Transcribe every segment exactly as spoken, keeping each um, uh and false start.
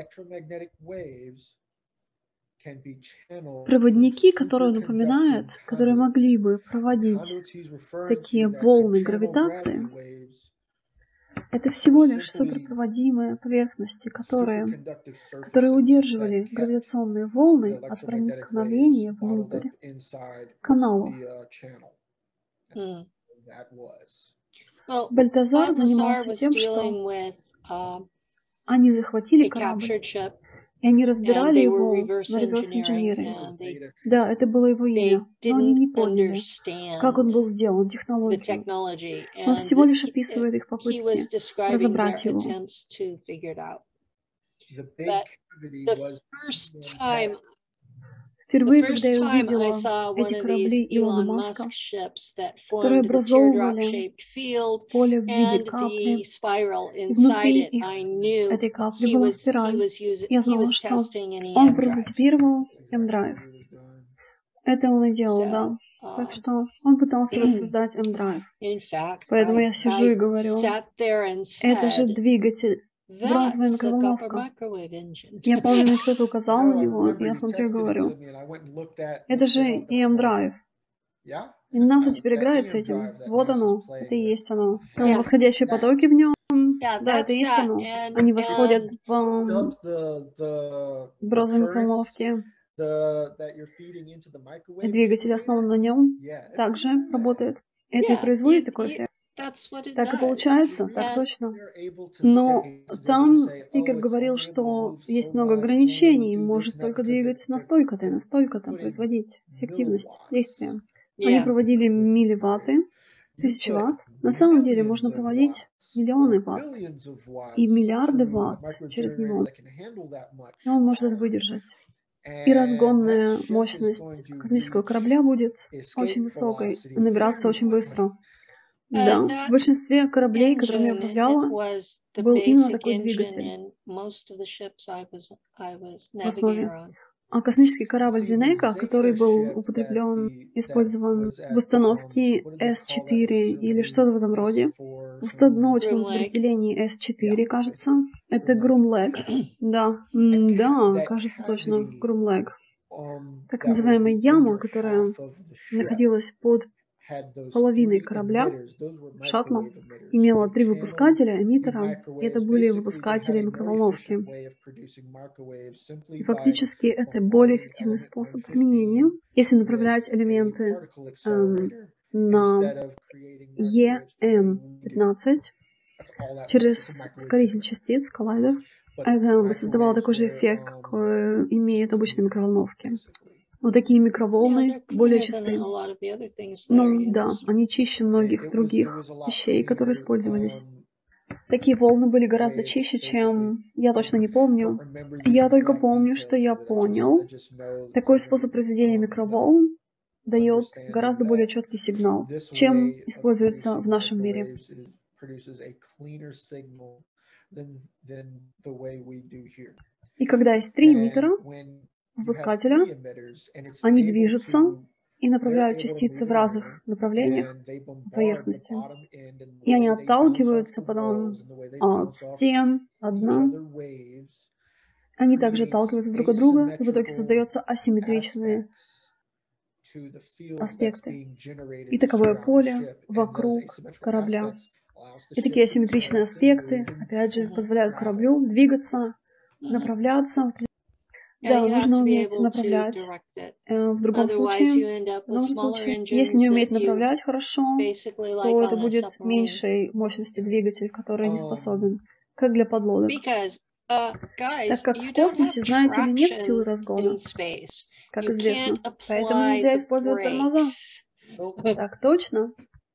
Проводники, которые он упоминает, которые могли бы проводить такие волны гравитации, это всего лишь суперпроводимые поверхности, которые, которые удерживали гравитационные волны от проникновения внутрь каналов. Hmm. Бальтазар занимался тем, что они захватили корабль, и они разбирали его на реверс-инженеринг. Да, это было его имя, но они не поняли, как он был сделан, технологию. Он всего лишь описывает их попытки разобрать его. Впервые, когда я увидела эти корабли Илона Маска, которые образовывали поле в виде капли, и внутри их, этой капли была спираль, я знала, что он прототипировал M-Drive. Это он и делал, да. Так что он пытался воссоздать M-Drive. Поэтому я сижу и говорю, это же двигатель. Бронзовая микроволновка. Я помню, мне кто-то указал на него, и я смотрю и говорю, это же и M-Drive. И НАСА теперь играет с этим. Вот оно, это и есть оно. Там восходящие потоки в нем. Да, это и есть оно. Они восходят в бронзовой микроволновке. И двигатель основан на нем также работает. Это и производит такой эффект. Так и получается, так точно. Но там спикер говорил, что есть много ограничений, может только двигать настолько-то и настолько-то, производить эффективность действия. Они проводили милливатты, тысячи ватт. На самом деле можно проводить миллионы ватт и миллиарды ватт через него. И он может это выдержать. И разгонная мощность космического корабля будет очень высокой, набираться очень быстро. Да, в большинстве кораблей, которыми я управляла, был именно такой двигатель в основе. А космический корабль Зенека, который был употреблен, использован в установке эс четыре или что-то в этом роде, в установочном подразделении эс четыре, кажется, это Groom-Leg. Да, да, кажется точно, Groom-Leg. Так называемая яма, которая находилась под половиной корабля, шаттла, имела три выпускателя, эмиттера, и это были выпускатели микроволновки. И фактически это более эффективный способ применения, если направлять элементы эм, на и эм пятнадцать через ускоритель частиц, коллайдер. Это бы создавало такой же эффект, какой имеют обычные микроволновки. Но такие микроволны более чистые. Ну да, они чище многих других вещей, которые использовались. Такие волны были гораздо чище, чем... Я точно не помню. Я только помню, что я понял. Такой способ произведения микроволн дает гораздо более четкий сигнал, чем используется в нашем мире. И когда есть три эмиттера, выпускателя, они движутся и направляют частицы в разных направлениях по поверхности. И они отталкиваются потом от стен, от дна. Они также отталкиваются друг от друга, и в итоге создаются асимметричные аспекты. И таковое поле вокруг корабля. И такие асимметричные аспекты, опять же, позволяют кораблю двигаться, направляться. Да, нужно уметь направлять. В другом случае, в другом случае, если не уметь направлять хорошо, то это будет меньшей мощности двигатель, который не способен, как для подлодок. Так как в космосе, знаете ли, нет силы разгона, как известно, поэтому нельзя использовать тормоза. Так точно.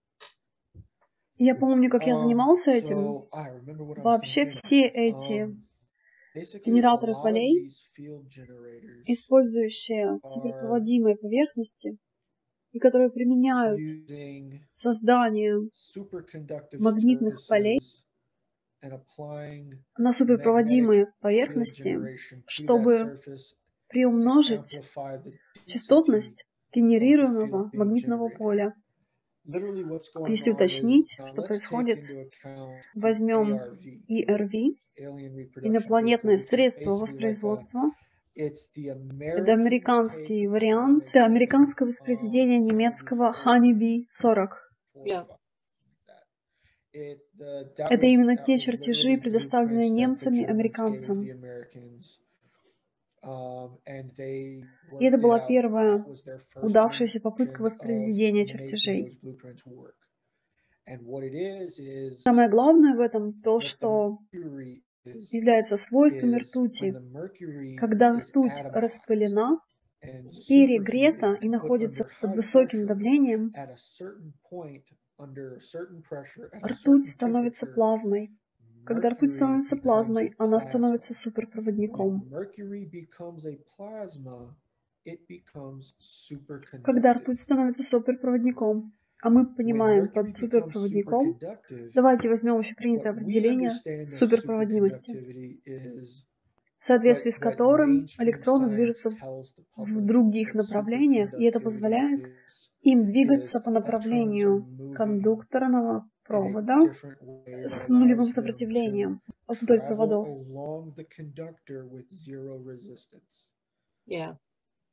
Я помню, как я занимался этим. Вообще все эти генераторы полей, использующие суперпроводимые поверхности, и которые применяют создание магнитных полей на суперпроводимые поверхности, чтобы приумножить частотность генерируемого магнитного поля. Если уточнить, что происходит, возьмем и эр ви, инопланетное средство воспроизводства. Это американский вариант, это американское воспроизведение немецкого Honeybee сорок. Yeah. Это именно те чертежи, предоставленные немцами американцам. И это была первая удавшаяся попытка воспроизведения чертежей. Самое главное в этом то, что является свойствами ртути. Когда ртуть распылена, перегрета и находится под высоким давлением, ртуть становится плазмой. Когда ртуть становится плазмой, она становится суперпроводником. Когда ртуть становится суперпроводником, а мы понимаем под суперпроводником, давайте возьмем общепринятое определение суперпроводимости, в соответствии с которым электроны движутся в других направлениях, и это позволяет им двигаться по направлению кондукторного провода с нулевым сопротивлением вдоль проводов. Yeah.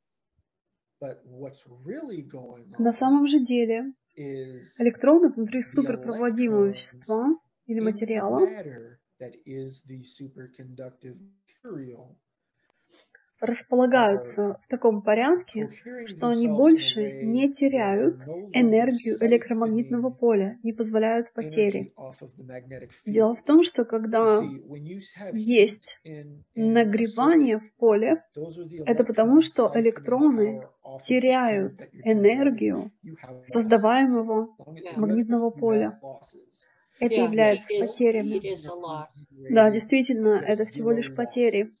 На самом же деле, электроны внутри суперпроводимого вещества или материала располагаются в таком порядке, что они больше не теряют энергию электромагнитного поля, не позволяют потери. Дело в том, что когда есть нагревание в поле, это потому, что электроны теряют энергию создаваемого магнитного поля. Это Yeah, является it is- потерями. it is a loss. Да, действительно, это всего лишь потери.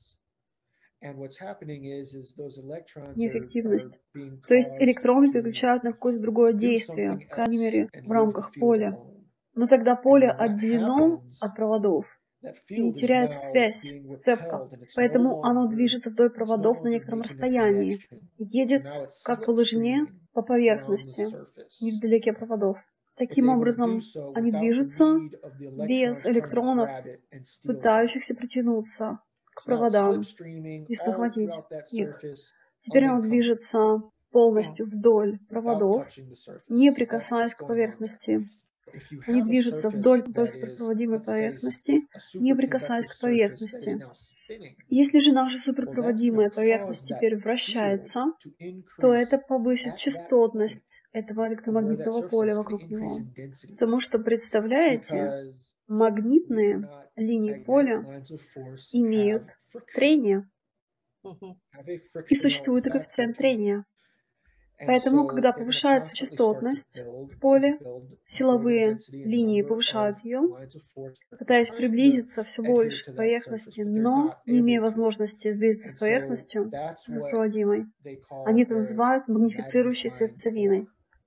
Неэффективность. То есть электроны переключают на какое-то другое действие, по крайней мере, в рамках поля. Но тогда поле отделено от проводов, и теряется связь, сцепка. Поэтому оно движется вдоль проводов на некотором расстоянии, едет как по лыжне по поверхности, невдалеке проводов. Таким образом, они движутся без электронов, пытающихся притянуться к проводам и захватить их. Теперь оно движется полностью вдоль проводов, не прикасаясь к поверхности. Они движутся вдоль суперпроводимой поверхности, не прикасаясь к поверхности. Если же наша суперпроводимая поверхность теперь вращается, то это повысит частотность этого электромагнитного поля вокруг него. Потому что, представляете, магнитные линии поля имеют трение, Мгм. и существует и коэффициент трения. Поэтому, когда повышается частотность в поле, силовые линии повышают ее, пытаясь приблизиться все больше к поверхности, но не имея возможности сблизиться с поверхностью суперпроводимой. Они это называют магнифицирующей сердцевиной.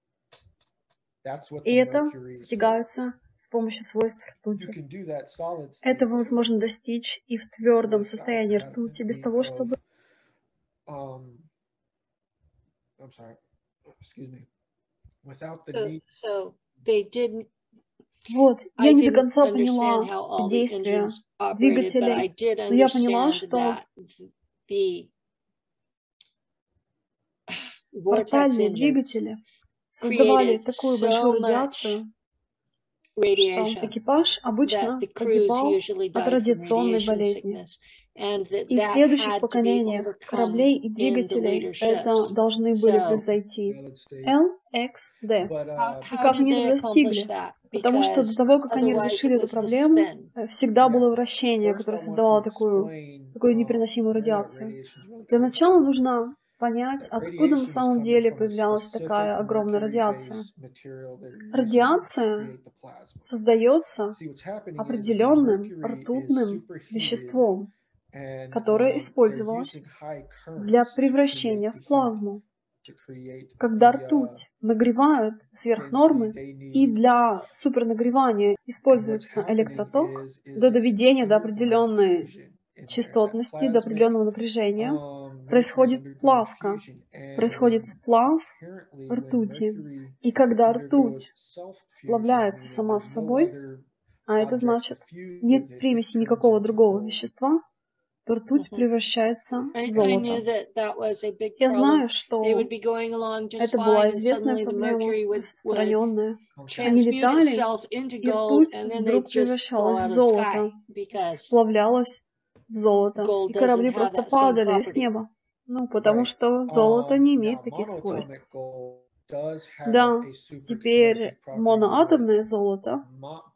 И это достигается с помощью свойств ртути. Этого возможно достичь и в твердом состоянии ртути, без того, чтобы So, so they didn't. Вот, I я не до didn't конца understand how поняла all the действия engines operated, but I двигателей, did но я поняла, understand что that the vortex портальные engines двигатели создавали created такую so большую much радиацию, что radiation экипаж that обычно the crews погибал usually от died from радиационной radiation болезни. sickness, and that И в that следующих had to be поколениях overcome кораблей и in the двигателей later это ships. должны были So, превзойти. эл икс ди. how, И how как did они they это accomplish достигли? that? Потому что до Because того, как они otherwise it разрешили эту was the проблему, spin. э, всегда было вращение, которое создавало такую, такую непереносимую радиацию. Для начала нужно понять, откуда на самом деле появлялась такая огромная радиация. Радиация создается определенным ртутным веществом, которое использовалось для превращения в плазму. Когда ртуть нагревают сверх нормы, и для супернагревания используется электроток до доведения до определенной частотности, до определенного напряжения, происходит плавка, происходит сплав ртути. И когда ртуть сплавляется сама с собой, а это значит, нет примеси никакого другого вещества, то ртуть превращается в золото. Я знаю, что это была известная проблема, распространенная. Они летали, и ртуть вдруг превращалась в золото, сплавлялась в золото, и корабли просто падали с неба. Ну, потому что золото не имеет таких свойств. Да, теперь моноатомное золото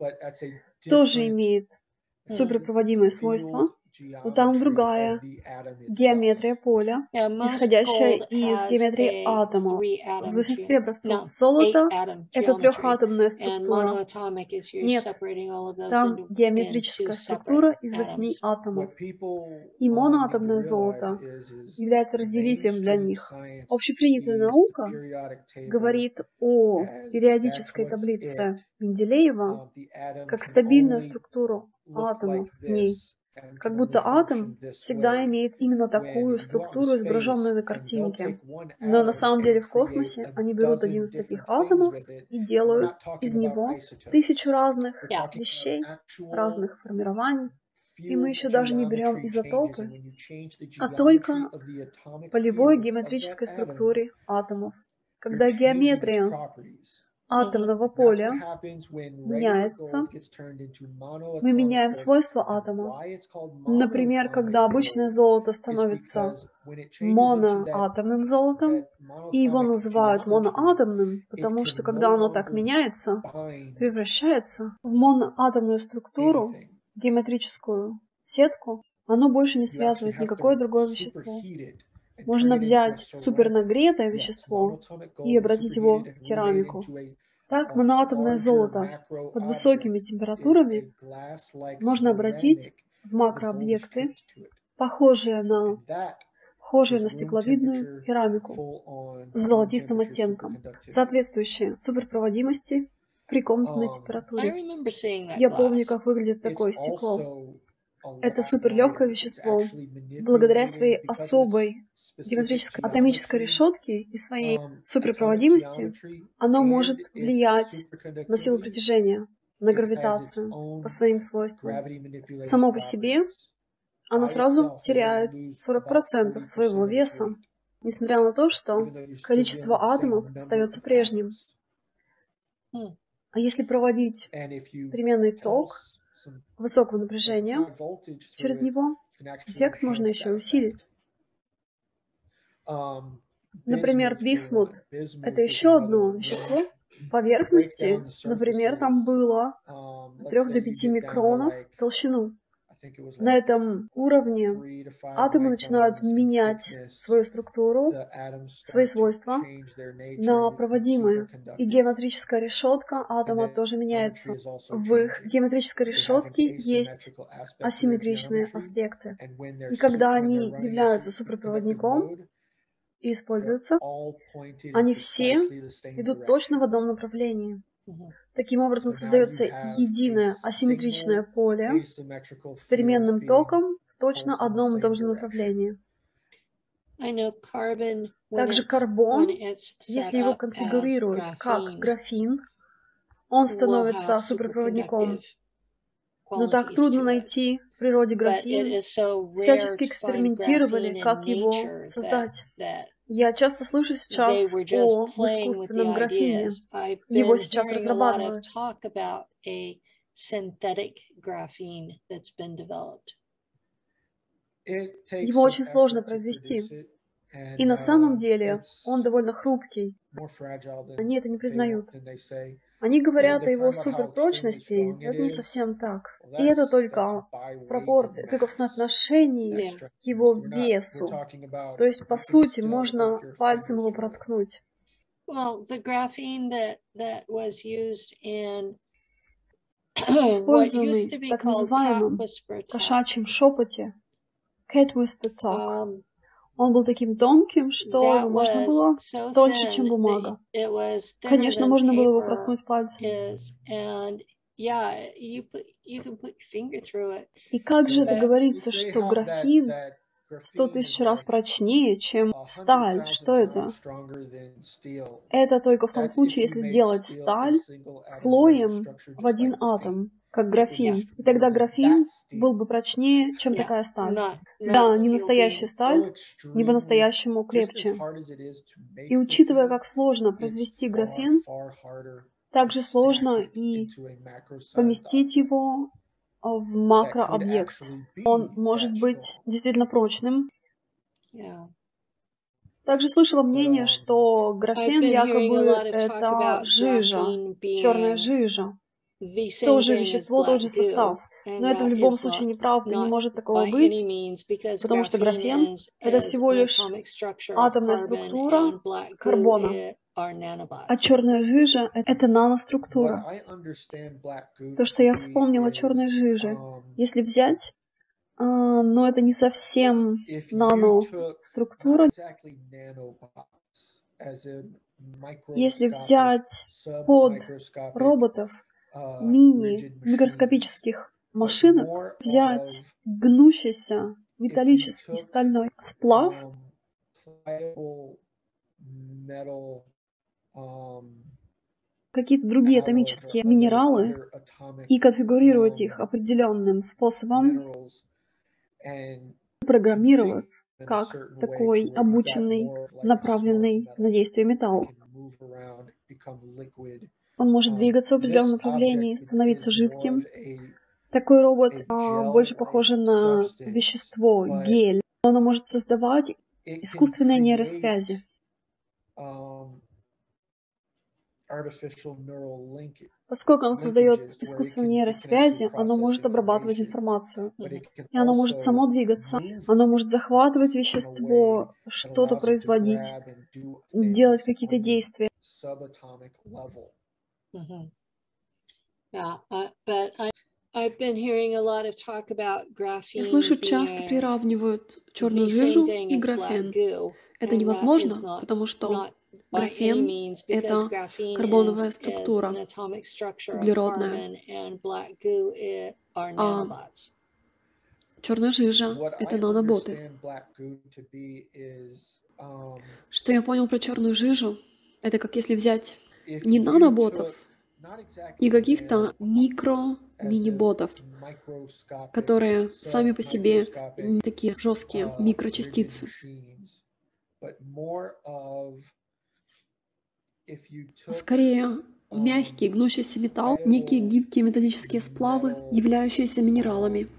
тоже имеет суперпроводимые свойства, но там другая геометрия поля, исходящая из геометрии атомов. В большинстве образцов золота это трехатомная структура. Нет, там геометрическая структура из восьми атомов. И моноатомное золото является разделителем для них. Общепринятая наука говорит о периодической таблице Менделеева как стабильную структуру атомов в ней. Как будто атом всегда имеет именно такую структуру, изображенную на картинке. Но на самом деле в космосе они берут один из таких атомов и делают из него тысячу разных вещей, разных формирований. И мы еще даже не берем изотопы, а только полевой геометрической структуре атомов. Когда геометрия атомного поля меняется, мы меняем свойства атома. Например, когда обычное золото становится моноатомным золотом, и его называют моноатомным, потому что когда оно так меняется, превращается в моноатомную структуру, геометрическую сетку, оно больше не связывает никакое другое вещество. Можно взять супернагретое вещество и обратить его в керамику. Так, моноатомное золото под высокими температурами можно обратить в макрообъекты, похожие на, похожие на стекловидную керамику с золотистым оттенком, соответствующие суперпроводимости при комнатной температуре. Я помню, как выглядит такое стекло. Это суперлегкое вещество. Благодаря своей особой геометрической атомической решетке и своей суперпроводимости оно может влиять на силу притяжения, на гравитацию по своим свойствам. Само по себе оно сразу теряет сорок процентов своего веса, несмотря на то, что количество атомов остается прежним. А если проводить переменный ток высокого напряжения через него, эффект можно еще усилить. Например, бисмут — это еще одно вещество. В поверхности, например, там было от трёх до пяти микронов в толщину. На этом уровне атомы начинают менять свою структуру, свои свойства на проводимые. И геометрическая решетка атома тоже меняется. В их геометрической решетке есть асимметричные аспекты. И когда они являются суперпроводником и используются, они все идут точно в одном направлении. Таким образом создается единое асимметричное поле с переменным током в точно одном и том же направлении. Также карбон, если его конфигурируют как графин, он становится суперпроводником. Но так трудно найти в природе графин. Всячески экспериментировали, как его создать. Я часто слышу сейчас о искусственном графине. Его сейчас разрабатывают. Его очень сложно произвести. И на самом деле он довольно хрупкий. Они это не признают. Они говорят о его суперпрочности, но это не совсем так. И это только в пропорции, только в соотношении к его весу. То есть, по сути, можно пальцем его проткнуть. Используемый в так называемом кошачьем шепоте, cat whisper talk, он был таким тонким, что его можно было тоньше, чем бумага. Конечно, можно было его проткнуть пальцем. И как же это говорится, что графин в сто тысяч раз прочнее, чем сталь. Что это? Это только в том случае, если сделать сталь слоем в один атом, как графин. И тогда графин был бы прочнее, чем такая сталь. Да, не настоящая сталь, не по-настоящему крепче. И учитывая, как сложно произвести графен, также сложно и поместить его в макрообъект. Он может быть действительно прочным. Также слышала мнение, что графен якобы это жижа, черная жижа. Тоже вещество, тот же состав. Но это в любом случае неправда, не может такого быть, потому что графен — это всего лишь атомная структура карбона, а черная жижа — это наноструктура. То, что я вспомнила о черной жиже, если взять, а, но это не совсем наноструктура. Если взять под роботов мини-микроскопических машинок, взять гнущийся металлический стальной сплав, какие-то другие атомические минералы и конфигурировать их определенным способом, программировав как такой обученный, направленный на действие металл. Он может двигаться в определенном направлении, становиться жидким. Такой робот а, больше похож на вещество, гель. Оно может создавать искусственные нейросвязи. Поскольку оно создает искусственные нейросвязи, оно может обрабатывать информацию. И оно может само двигаться. Оно может захватывать вещество, что-то производить, делать какие-то действия. Mm-hmm. Yeah, uh, but I, I've been hearing a lot of talk about graphene. Я слышу, часто приравнивают черную жижу и графен. Это невозможно, потому что графен — это карбоновая структура, углеродная, а черная жижа — это наноботы. Что я понял про черную жижу, это как если взять не наноботов, не каких-то микро-мини-ботов, которые сами по себе не такие жесткие микрочастицы. Скорее, мягкий гнущийся металл, некие гибкие металлические сплавы, являющиеся минералами.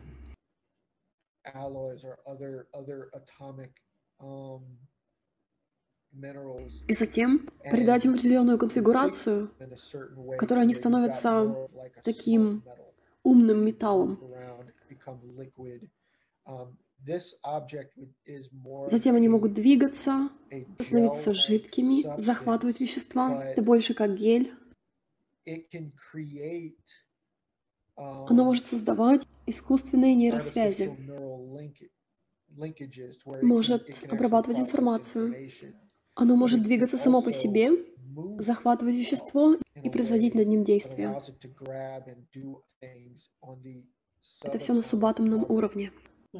И затем придать им определенную конфигурацию, в которой они становятся таким умным металлом. Затем они могут двигаться, становиться жидкими, захватывать вещества. Это больше как гель. Оно может создавать искусственные нейросвязи, может обрабатывать информацию. Оно может двигаться само по себе, захватывать вещество и производить над ним действия. Это все на субатомном уровне.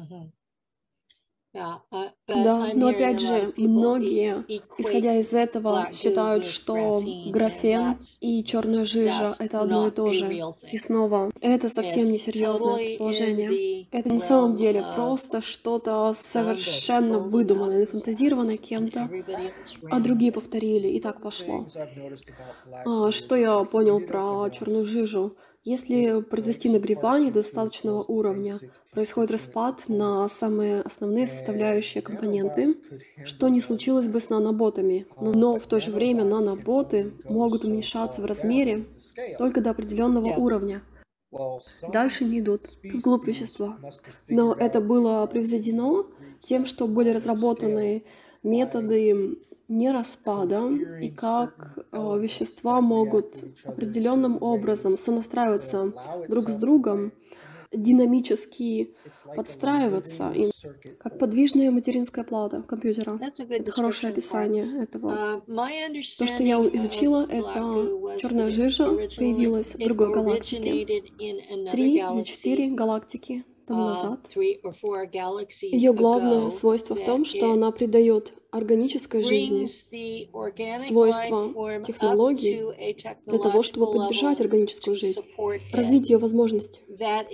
Да, но опять же, многие, исходя из этого, считают, что графен и черная жижа — это одно и то же. И снова, это совсем несерьезное предположение. Это на самом деле просто что-то совершенно выдуманное, нафантазированное кем-то, а другие повторили, и так пошло. А, что я понял про черную жижу? Если произвести нагревание до достаточного уровня, происходит распад на самые основные составляющие компоненты, что не случилось бы с наноботами. Но в то же время наноботы могут уменьшаться в размере только до определенного уровня. Дальше не идут вглубь вещества. Но это было превзойдено тем, что были разработаны методы не распада, и как э, вещества могут определенным образом сонастраиваться друг с другом, динамически подстраиваться, и как подвижная материнская плата компьютера. Это хорошее описание этого. То, что я изучила, это черная жижа появилась в другой галактике. Три или четыре галактики тому назад. Ее главное свойство в том, что она придает органической жизни свойства технологий для того, чтобы поддержать органическую жизнь, развить ее возможности.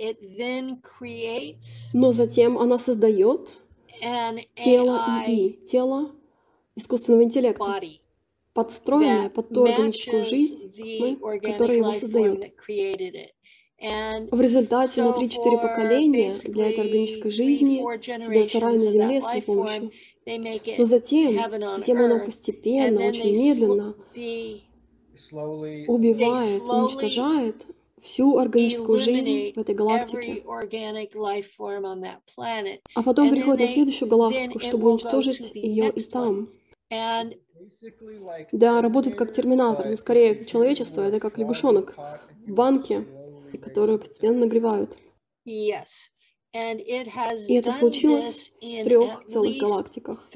Но затем она создает тело ИИ, тело искусственного интеллекта, подстроенное под ту органическую жизнь, которая его создает. В результате на три-четыре поколения для этой органической жизни создается рай на земле с ее помощью. Но затем, затем она постепенно, очень медленно убивает, уничтожает всю органическую жизнь в этой галактике. А потом приходит на следующую галактику, чтобы уничтожить ее и там. Да, работает как терминатор, но скорее человечество — это как лягушонок в банке, которые постепенно нагревают. И это случилось в трех целых галактиках.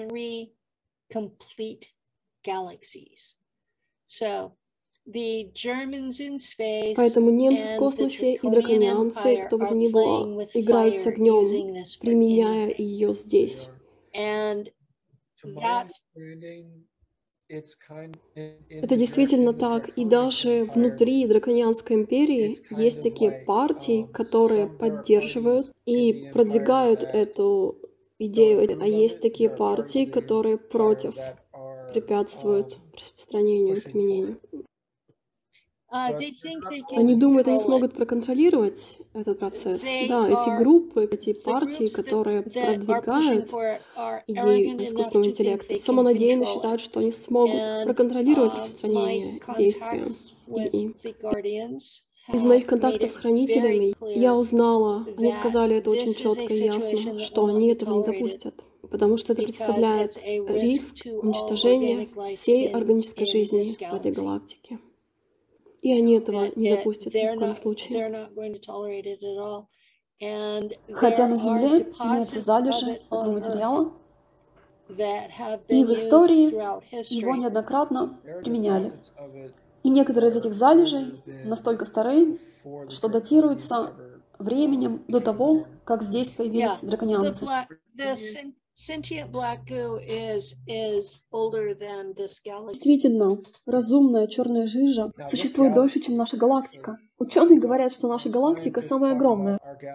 Поэтому немцы в космосе и драконианцы, кто бы то ни было, играют с огнем, применяя ее здесь. Это действительно так. И даже внутри драконианской империи есть такие партии, которые поддерживают и продвигают эту идею. А есть такие партии, которые против, препятствуют распространению и применению. Они думают, они смогут проконтролировать этот процесс. Да, эти группы, эти партии, которые продвигают идею искусственного интеллекта, самонадеянно считают, что они смогут проконтролировать распространение действия ИИ. Из моих контактов с хранителями я узнала, они сказали это очень четко и ясно, что они этого не допустят, потому что это представляет риск уничтожения всей органической жизни в этой галактике. И они этого не допустят ни в коем случае. Хотя на Земле имеются залежи этого материала, и в истории его неоднократно применяли. И некоторые из этих залежей настолько стары, что датируются временем до того, как здесь появились драконианцы. Действительно, разумная черная жижа существует дольше, чем наша галактика. Ученые говорят, что наша галактика самая огромная.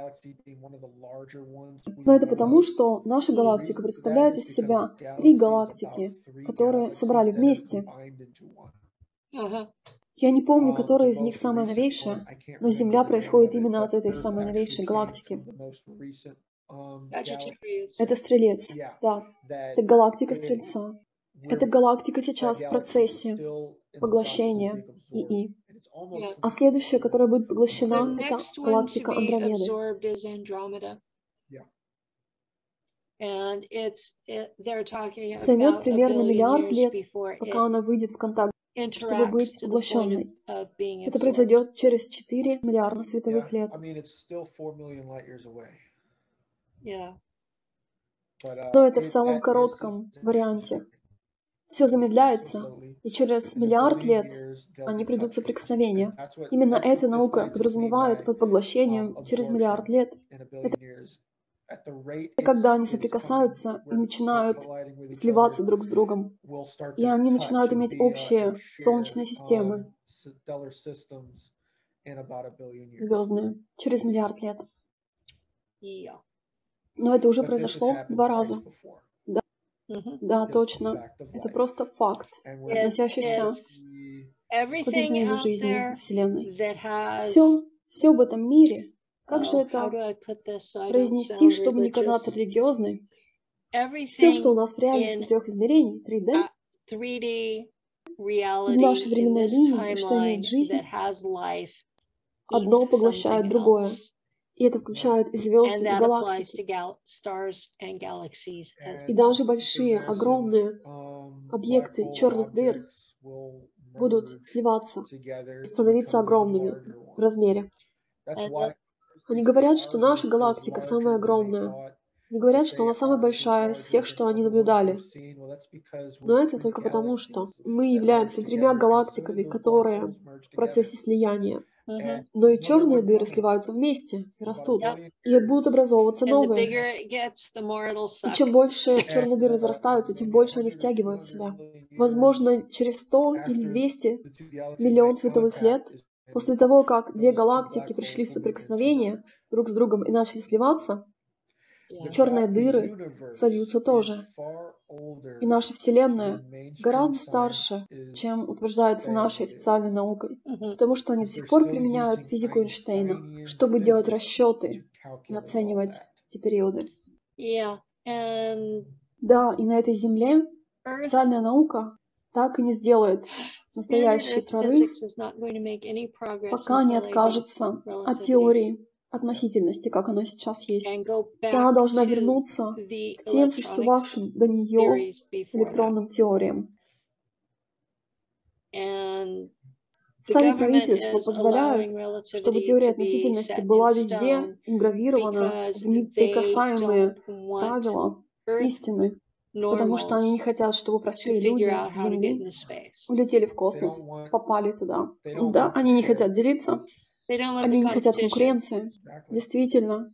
Но это потому, что наша галактика представляет из себя три галактики, которые собрали вместе. Я не помню, которая из них самая новейшая, но Земля происходит именно от этой самой новейшей галактики. Это Стрелец, да. Это галактика Стрельца. Эта галактика сейчас в процессе поглощения ИИ. А следующая, которая будет поглощена, это галактика Андромеды. Займет примерно миллиард лет, пока она выйдет в контакт, чтобы быть поглощенной. Это произойдет через четыре миллиарда световых лет. Но это в самом коротком варианте. Все замедляется, и через миллиард лет они придут в соприкосновение. Именно эта наука подразумевает под поглощением через миллиард лет. Это когда они соприкасаются и начинают сливаться друг с другом. И они начинают иметь общие солнечные системы, звездные, через миллиард лет. Но это уже произошло два раза. Да, да, точно. Это просто факт, относящийся к возникновению жизни в Вселенной. Все, все в этом мире. Как же это произнести, чтобы не казаться религиозной? Все, что у нас в реальности трех измерений, три дэ, в нашей временной линии, что имеет жизнь, одно поглощает другое. И это включает и звезды, и галактики. И даже большие, огромные объекты черных дыр будут сливаться, становиться огромными в размере. Они говорят, что наша галактика самая огромная. Они говорят, что она самая большая из всех, что они наблюдали. Но это только потому, что мы являемся тремя галактиками, которые в процессе слияния. Mm-hmm. Но и черные дыры сливаются вместе и растут. Yep. И будут образовываться And the новые. bigger it gets, the more it'll И suck. чем больше черные дыры зарастаются, тем больше они втягивают в себя. Возможно, через сто или двести миллион световых лет, после того, как две галактики пришли в соприкосновение друг с другом и начали сливаться, Yeah. черные дыры сольются тоже. И наша Вселенная гораздо старше, чем утверждается нашей официальной наукой, Mm-hmm. потому что они до сих пор применяют физику Эйнштейна, чтобы делать расчеты и оценивать эти периоды. Yeah. And Да, и на этой Земле Earth, официальная наука так и не сделает standard настоящий Earth прорыв, physics is not going to make any progress пока не until they do откажется от relativity теории относительности, как она сейчас есть. and go И back она должна to вернуться the к тем electronics существовавшим до нее theories before that. электронным теориям. And the Сами government правительства is позволяют, allowing чтобы relativity теория to be относительности set была in везде stone ингравирована because в they неприкасаемые don't want правила Earth истины, потому что они normals не хотят, чтобы to простые figure люди out с how to get Земли into space. улетели в космос, попали туда. Да, они не хотят делиться, They don't want они the не хотят competition. конкуренции. Действительно.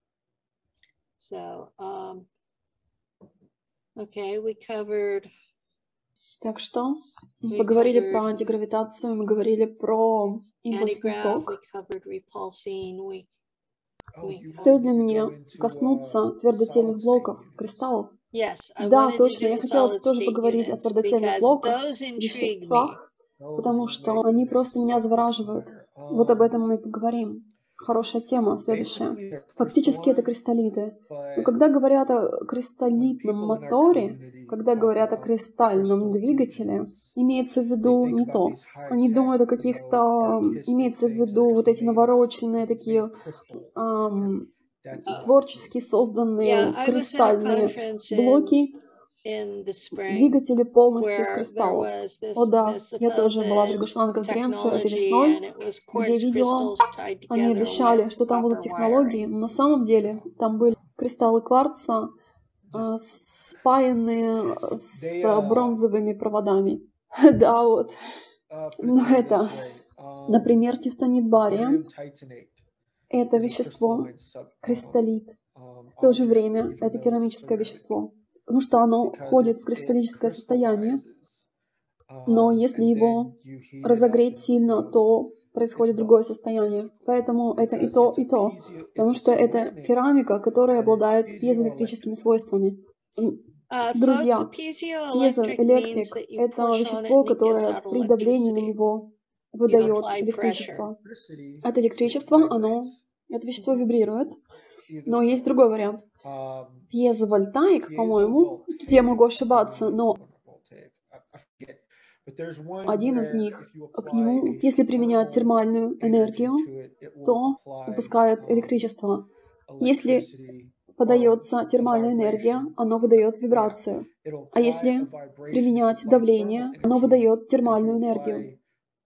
So, um, okay, we covered Так что мы We поговорили covered про антигравитацию, мы говорили про импульсный antigrav, ток. we covered repulsing, we, we Стоит ли мне коснуться твердотельных блоков, кристаллов? yes, I Да, wanted to точно. do Я the хотела solid тоже state поговорить о units твердотельных because блоках, those intrigue me. веществах, потому что они просто меня завораживают. Вот об этом мы и поговорим. Хорошая тема, следующая. Фактически это кристаллиты. Но когда говорят о кристаллитном моторе, когда говорят о кристальном двигателе, имеется в виду не то. Они думают о каких-то... Имеется в виду вот эти навороченные такие... Ам, творчески созданные Yeah, I was at a кристальные conference in, блоки, in the spring двигатели полностью из where there кристаллов. was this, О да, this я тоже была supposed приглашена на конференцию этой technology весной, and it was где quartz видела, crystals tied они together обещали, with что там будут copper технологии, wiring. но на самом деле там были кристаллы кварца, а, спаянные с бронзовыми проводами. Да, вот. Но это, например, тефтонит бария. Это вещество, кристаллит. В то же время это керамическое вещество, потому что оно входит в кристаллическое состояние, но если его разогреть сильно, то происходит другое состояние. Поэтому это и то, и то, потому что это керамика, которая обладает пьезоэлектрическими свойствами. Uh, Друзья, folks, piezoelectric пьезоэлектрик means that — you это push on it вещество, and it gives которое out при давлении на electricity. него You выдает apply электричество. pressure. Это электричество, оно, это вещество вибрирует. Но есть другой вариант. Пьезовольтаик, по-моему, тут я могу ошибаться, но один из них, к нему, если применять термальную энергию, то выпускает электричество. Если подается термальная энергия, оно выдает вибрацию. А если применять давление, оно выдает термальную энергию.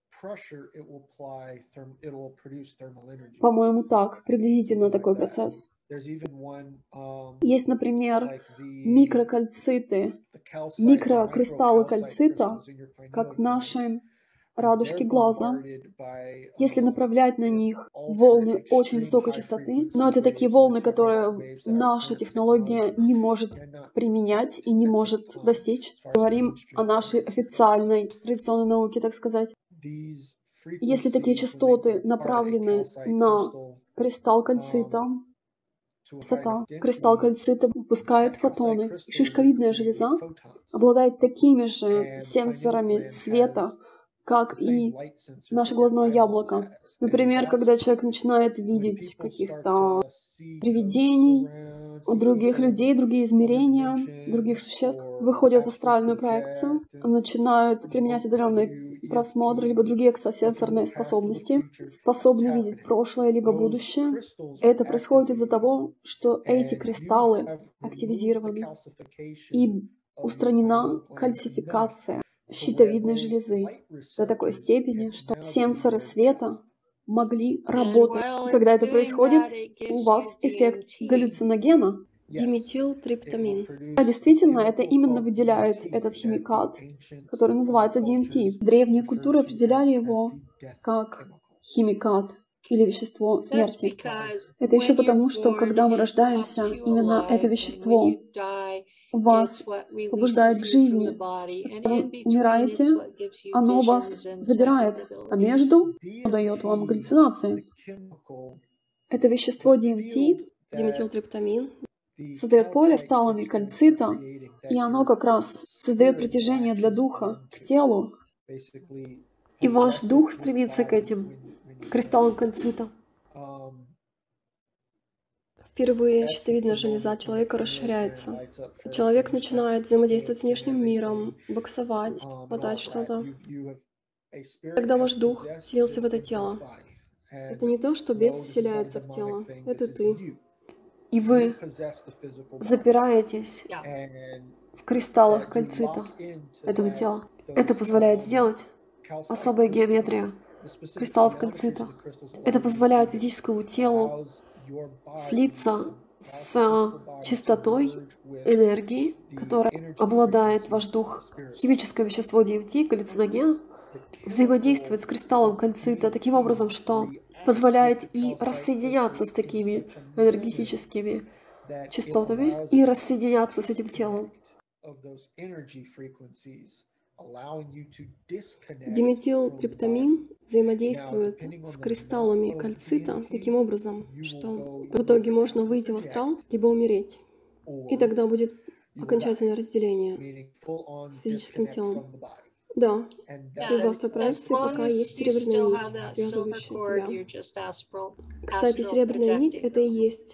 По-моему, так, приблизительно такой процесс. Есть, например, микрокальциты, микрокристаллы кальцита, как в нашей радужке глаза. Если направлять на них волны очень высокой частоты, но это такие волны, которые наша технология не может применять и не может достичь. Говорим о нашей официальной традиционной науке, так сказать. Если такие частоты направлены на кристалл кальцита, частота, кристалл кальцита выпускает фотоны. Шишковидная железа обладает такими же сенсорами света, как и наше глазное яблоко. Например, когда человек начинает видеть каких-то привидений, других людей, другие измерения, других существ, выходят в астральную проекцию, начинают применять удаленный просмотр, либо другие экстрасенсорные способности, способны видеть прошлое, либо будущее. Это происходит из-за того, что эти кристаллы активизированы и устранена кальцификация щитовидной железы до такой степени, что сенсоры света могли работать. И когда это происходит, у вас эффект галлюциногена, диметилтриптамин. А действительно, это именно выделяет этот химикат, который называется ди эм ти. Древние культуры определяли его как химикат или вещество смерти. Это еще потому, что когда мы рождаемся, именно это вещество вас побуждает к жизни. Когда вы умираете, оно вас забирает, а между дает вам галлюцинации. Это вещество ди эм ти, диметилтриптамин, создает поле с талами кальцита, и оно как раз создает притяжение для духа к телу, и ваш дух стремится к этим кристаллам кальцита. Впервые щитовидная железа человека расширяется. И человек начинает взаимодействовать с внешним миром, боксовать, хватать что-то. Когда ваш дух вселился в это тело, это не то, что бес вселяется в тело, это ты. И вы запираетесь в кристаллах кальцита этого тела. Это позволяет сделать особая геометрия кристаллов кальцита. Это позволяет физическому телу слиться с чистотой энергии, которая обладает ваш дух. Химическое вещество ди эм ти, галлюциноген, взаимодействует с кристаллом кальцита таким образом, что позволяет и рассоединяться с такими энергетическими частотами, и рассоединяться с этим телом. Диметилтриптамин взаимодействует с кристаллами кальцита таким образом, что в итоге можно выйти в астрал, либо умереть. И тогда будет окончательное разделение с физическим телом. Да, ты в астропроекции, пока есть серебряная нить, связывающая тебя. Кстати, серебряная нить — это и есть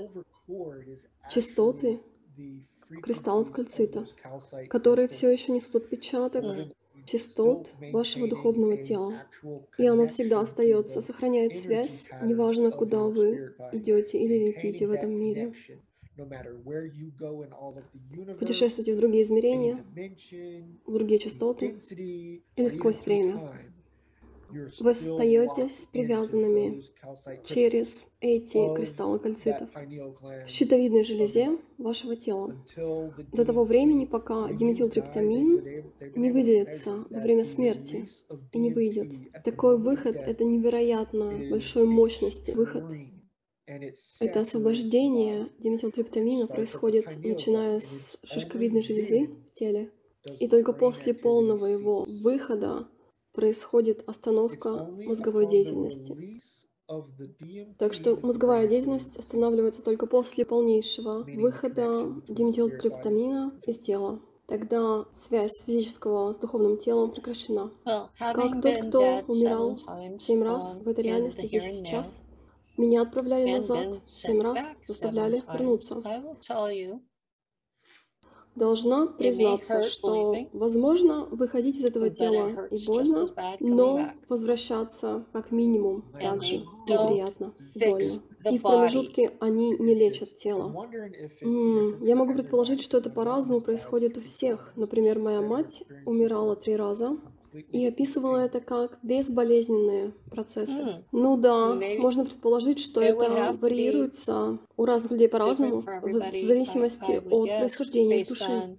частоты кристаллов кальцита, которые все еще несут отпечаток частот вашего духовного тела. И оно всегда остается, сохраняет связь, неважно, куда вы идете или летите в этом мире. Путешествуйте в другие измерения, в другие частоты или сквозь время. Вы остаетесь привязанными через эти кристаллы кальцитов в щитовидной железе вашего тела до того времени, пока диметилтриптамин не выделится во время смерти и не выйдет. Такой выход — это невероятно большой мощности выход. Это освобождение диметилтриптамина происходит, начиная с шишковидной железы в теле, и только после полного его выхода происходит остановка мозговой деятельности. Так что мозговая деятельность останавливается только после полнейшего выхода диметилтриптамина из тела. Тогда связь физического с духовным телом прекращена. Как тот, кто умирал семь раз в этой реальности здесь и сейчас, меня отправляли назад семь раз, заставляли вернуться. Должна признаться, что, возможно, выходить из этого тела и больно, но возвращаться как минимум также неприятно и больно. И в промежутке они не лечат тело. М-м, я могу предположить, что это по-разному происходит у всех. Например, моя мать умирала три раза и описывала это как безболезненные процессы. Mm. Ну да, можно предположить, что это варьируется у разных людей по-разному, в зависимости от происхождения их души.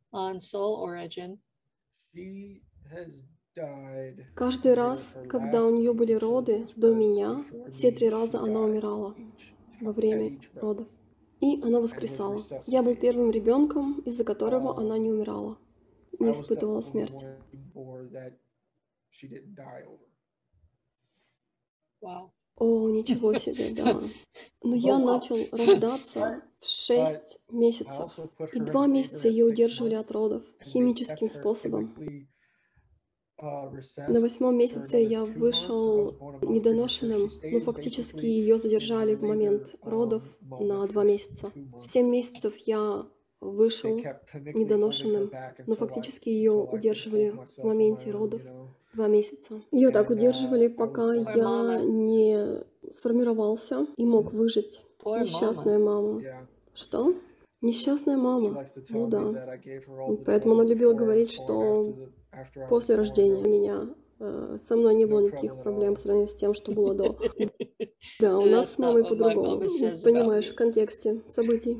Каждый раз, когда у нее были роды до меня, все три раза она умирала во время родов. И она воскресала. Я был первым ребенком, из-за которого она не умирала, не испытывала смерть. О, ничего себе, да. Но я начал рождаться в шесть месяцев. И два месяца ее удерживали от родов химическим способом. На восьмом месяце я вышел недоношенным, но фактически ее задержали в момент родов на два месяца. В семь месяцев я вышел недоношенным, но фактически ее удерживали в моменте родов два месяца. Ее так удерживали, пока я не сформировался и мог выжить. Несчастная мама. Что? Несчастная мама. Ну да. Поэтому она любила говорить, что после рождения меня э, со мной не было никаких проблем по сравнению с тем, что было до. Да, у нас с мамой по-другому. Понимаешь, в контексте событий.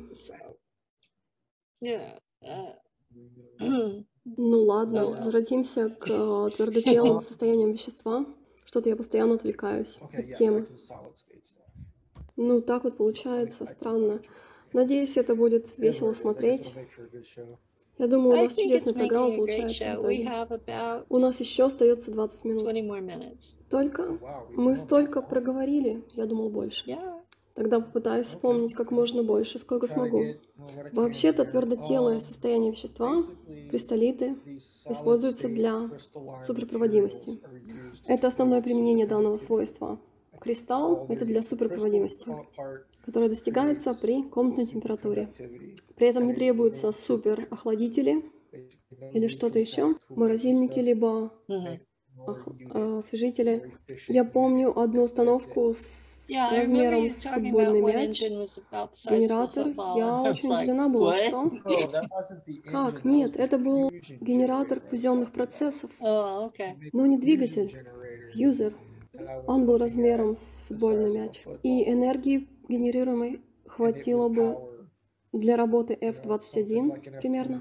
Ну ладно, возвратимся к твердотелым состояниям вещества. Что-то я постоянно отвлекаюсь от темы. Ну, так вот получается, странно. Надеюсь, это будет весело смотреть. Я думаю, у нас чудесная программа получается в итоге. У нас еще остается двадцать минут. Только? Мы столько проговорили, я думал больше. Тогда попытаюсь вспомнить как можно больше, сколько смогу. Вообще-то твердотелое состояние вещества, кристаллиты, используются для суперпроводимости. Это основное применение данного свойства. Кристалл — это для суперпроводимости, которая достигается при комнатной температуре. При этом не требуются суперохладители или что-то еще, морозильники, либо ох... освежители. Я помню одну установку с размером с футбольный мяч, генератор. Я очень удивлена была, что... Как? Нет, это был генератор фузионных процессов, но не двигатель, фьюзер. Он был размером с футбольный мяч. И энергии, генерируемой, хватило бы для работы эф двадцать один примерно.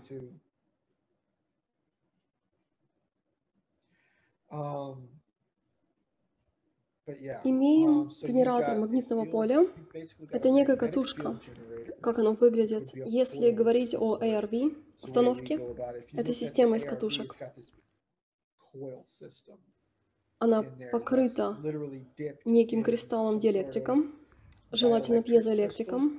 Имеем генератор магнитного поля. Это некая катушка. Как оно выглядит? Если говорить о эй ар ви установке, это система из катушек. Она покрыта неким кристаллом-диэлектриком, желательно пьезоэлектриком.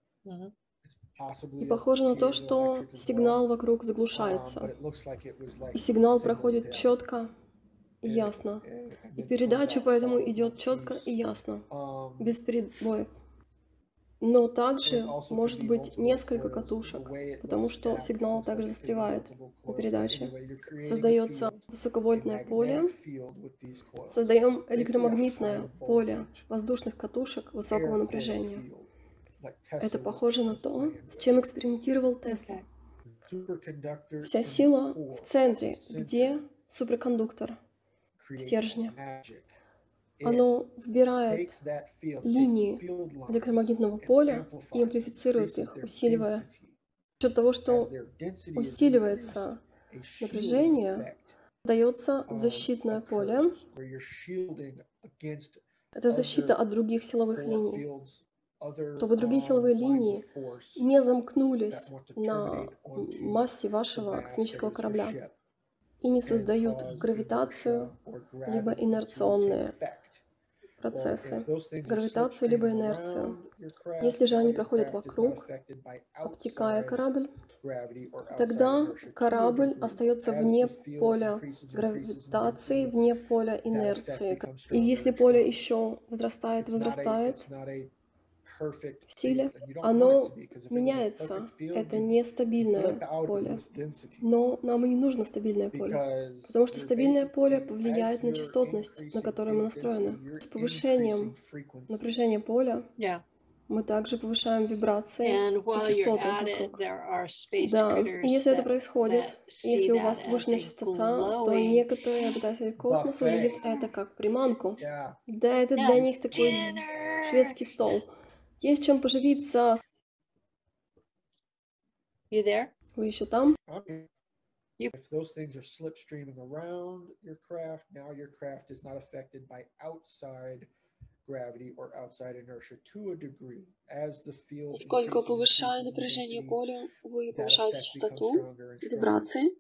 И похоже на то, что сигнал вокруг заглушается. И сигнал проходит четко и ясно. И передача поэтому идет четко и ясно, без перебоев. Но также может быть несколько катушек, потому что сигнал также застревает на передаче. Создается высоковольтное поле, создаем электромагнитное поле воздушных катушек высокого напряжения. Это похоже на то, с чем экспериментировал Тесла. Вся сила в центре, где суперкондуктор стержня. Оно вбирает линии электромагнитного поля и амплифицирует их, усиливая. За счет того, что усиливается напряжение, дается защитное поле. Это защита от других силовых линий, чтобы другие силовые линии не замкнулись на массе вашего космического корабля и не создают гравитацию, либо инерционные процессы, гравитацию либо инерцию. Если же они проходят вокруг, обтекая корабль, тогда корабль остается вне поля гравитации, вне поля инерции. И если поле еще возрастает, возрастает в силе, оно меняется. Это нестабильное поле. Но нам и не нужно стабильное поле, потому что стабильное поле повлияет на частотность, на которую мы настроены. С повышением напряжения поля мы также повышаем вибрации и частоты вокруг. Да, и если это происходит, если у вас повышенная частота, то некоторые обитатели космоса увидят это как приманку. Да, это для них такой шведский стол. Есть чем поживиться. Вы еще там? If those things are slipstreaming around your craft, now your craft is not affected by outside gravity or outside inertia to a degree. As the field Сколько повышая напряжение поля, вы повышаете частоту, вибрации.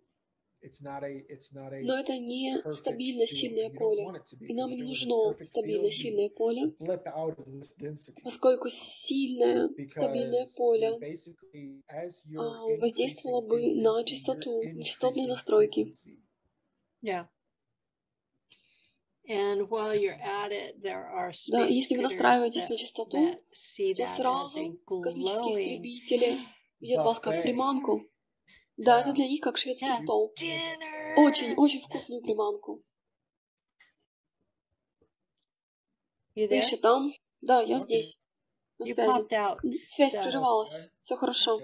Но это не стабильно сильное поле, и нам не нужно стабильно сильное поле, поскольку сильное стабильное поле воздействовало бы на частоту, на частотные настройки. Да, если вы настраиваетесь на частоту, то сразу космические истребители видят вас как приманку. Да, это для них как шведский стол. Очень, очень вкусную приманку. Вы еще там? Да, я здесь. На связи. Связь прерывалась. Все хорошо.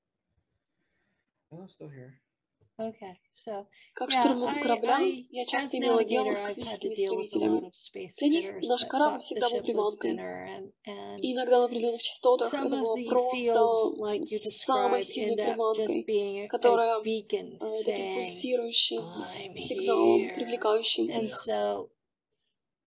Как штурман корабля, я часто имела дело с космическими истребителями. Для них наш корабль всегда был приманкой. И иногда на определенных частотах это было просто самой сильной приманкой, которая э, таким пульсирующим сигналом, привлекающим их.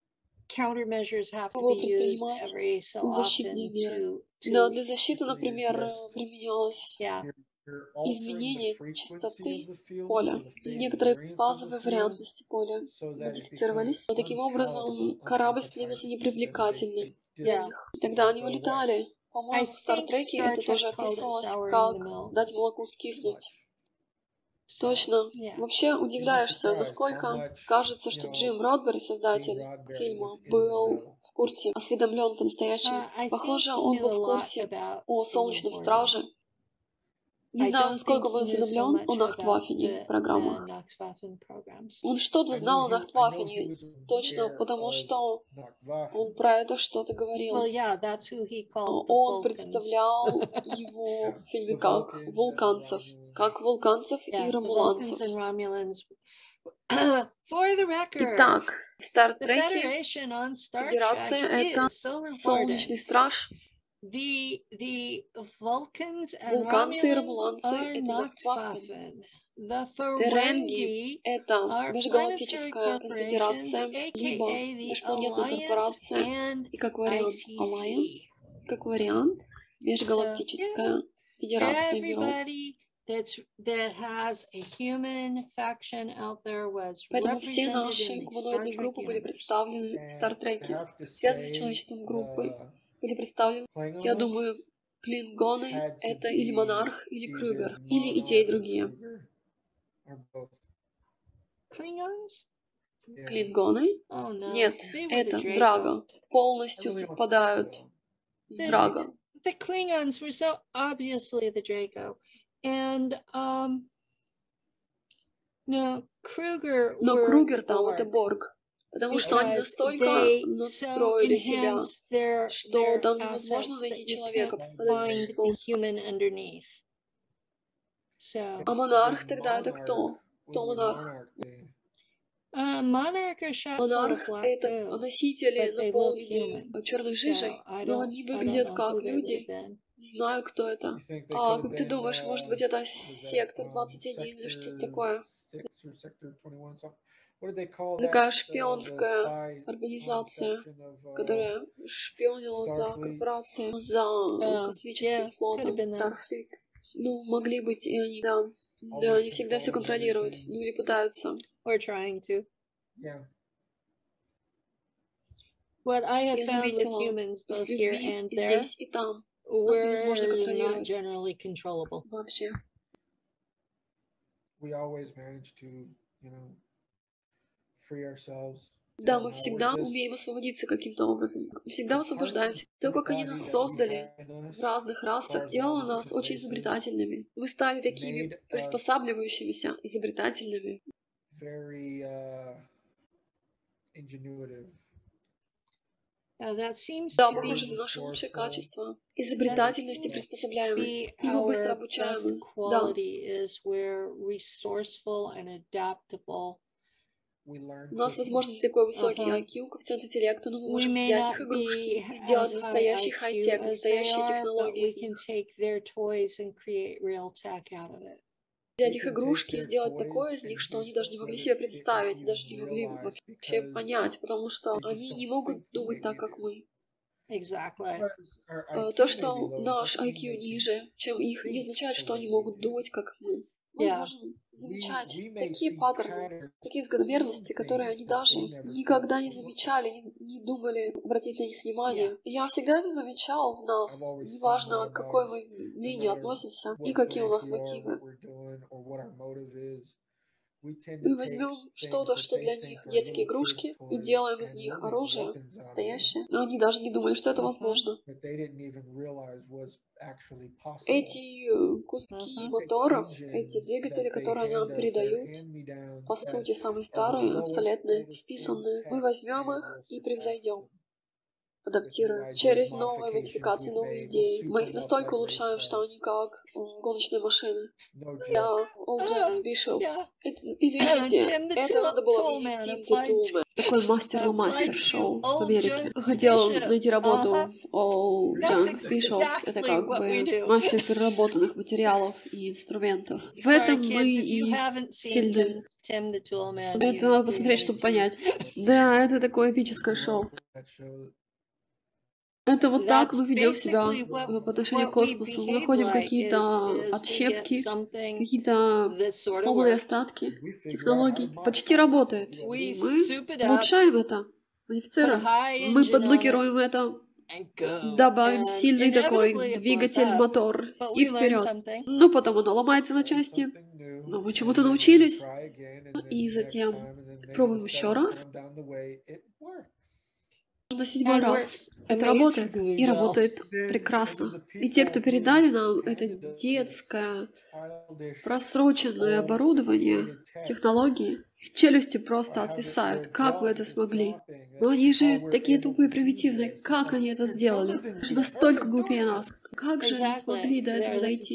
Пробовал предпринимать защитные меры. Да, для защиты, например, применялось изменение частоты поля. Некоторые фазовые вариантности поля модифицировались. Но таким образом корабль становился непривлекательным для них. И тогда они улетали. По-моему, в Стартреке это тоже описывалось, как дать молоку скиснуть. Точно. Вообще удивляешься, насколько кажется, что Джим Родбери, создатель фильма, был в курсе, осведомлен по-настоящему. Похоже, он был в курсе о Солнечном Страже. Не знаю, насколько был осведомлен о Нахтваффене программах. Он что-то знал о Нахтваффене, точно, потому что он про это что-то говорил. Он представлял его в фильме как вулканцев, как вулканцев и ромуланцев. Итак, в Стартреке Федерация — это Солнечный Страж. Вулканцы и ромуланцы — это Нахтваффен. Теренги — это Межгалактическая конфедерация, либо Межпланетная корпорация, и как вариант Alliance, как вариант Межгалактическая федерация миров. Поэтому все наши гуманоидные группы были представлены в Стартреке. Связанные с человечеством группы были представлены, я думаю, клингоны — это или монарх, или Крюгер, или и те, и другие. Клингоны? Нет, это Драго. Полностью совпадают с Драго. Но Крюгер там — это Борг. Потому что они настолько надстроили себя, что там невозможно найти человека под этим существом. А монарх тогда это кто? Кто монарх? Монарх — это носители, наполненные черной жижей, но они выглядят как люди. Не знаю, кто это. А как ты думаешь, может быть, это сектор двадцать один или что-то такое? Такая шпионская организация, которая шпионила за корпорацией, за космическим флотом Starfleet. Ну, могли быть и они, да. Да, они всегда все контролируют, ну или пытаются. Я заметила, с людьми и здесь, и там нас невозможно контролировать. Вообще. Да, мы всегда умеем освободиться каким-то образом. Мы всегда освобождаемся. То, как они нас создали в разных расах, делало нас очень изобретательными. Мы стали такими приспосабливающимися, изобретательными. Да, похоже, это наше лучшее качество. Изобретательность и приспособляемость. И мы быстро обучаемы. Да. У нас, возможно, не такой высокий ай кью, коэффициент интеллекта, но мы можем взять их игрушки и сделать настоящий хай-тек, настоящие технологии из них. Взять их игрушки и сделать такое из них, что они даже не могли себе представить, даже не могли вообще понять, потому что они не могут думать так, как мы. То, что наш ай кью ниже, чем их, не означает, что они могут думать, как мы. Мы yeah. можем замечать такие паттерны, такие закономерности, которые они даже никогда не замечали, не, не думали обратить на них внимание. Yeah. Я всегда это замечал в нас, неважно, к какой мы линии относимся и какие у нас мотивы. Мы возьмем что-то, что для них детские игрушки, и делаем из них оружие настоящее. Но они даже не думали, что это возможно. Эти куски моторов, эти двигатели, которые они нам передают, по сути, самые старые, обсолетные, списанные, мы возьмем их и превзойдем. адаптируем через новые модификации, новые идеи. Мы их настолько улучшаем, что они как гоночные машины. Да, All James Bishops. Это, извините, это надо было мне Тим the Toolman. Такой мастер-мастер-шоу в Америке. Хотел найти работу в All James Bishops. Это как бы мастер переработанных материалов и инструментов. В этом мы и сильны. Это надо посмотреть, чтобы понять. Да, это такое эпическое шоу. Это вот так мы ведем себя по отношению к космосу. Мы находим какие-то отщепки, какие-то сломанные остатки технологий. Почти работает. Мы улучшаем это, модифицируем. Мы подлокируем это, добавим сильный такой двигатель, мотор и вперед. Но потом оно ломается на части. Но мы чему-то научились. И затем пробуем еще раз. На седьмой раз. Это работает. И работает прекрасно. И те, кто передали нам это детское, просроченное оборудование, технологии, их челюсти просто отвисают. Как вы это смогли? Но они же такие тупые, примитивные. Как они это сделали? Они же настолько глупее нас. Как же они смогли до этого дойти?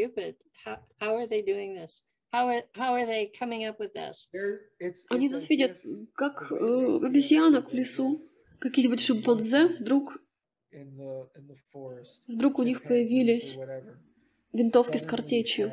Они нас видят как э, обезьянок в лесу. Какие-нибудь шимпанзе, вдруг, вдруг у них появились винтовки с картечью.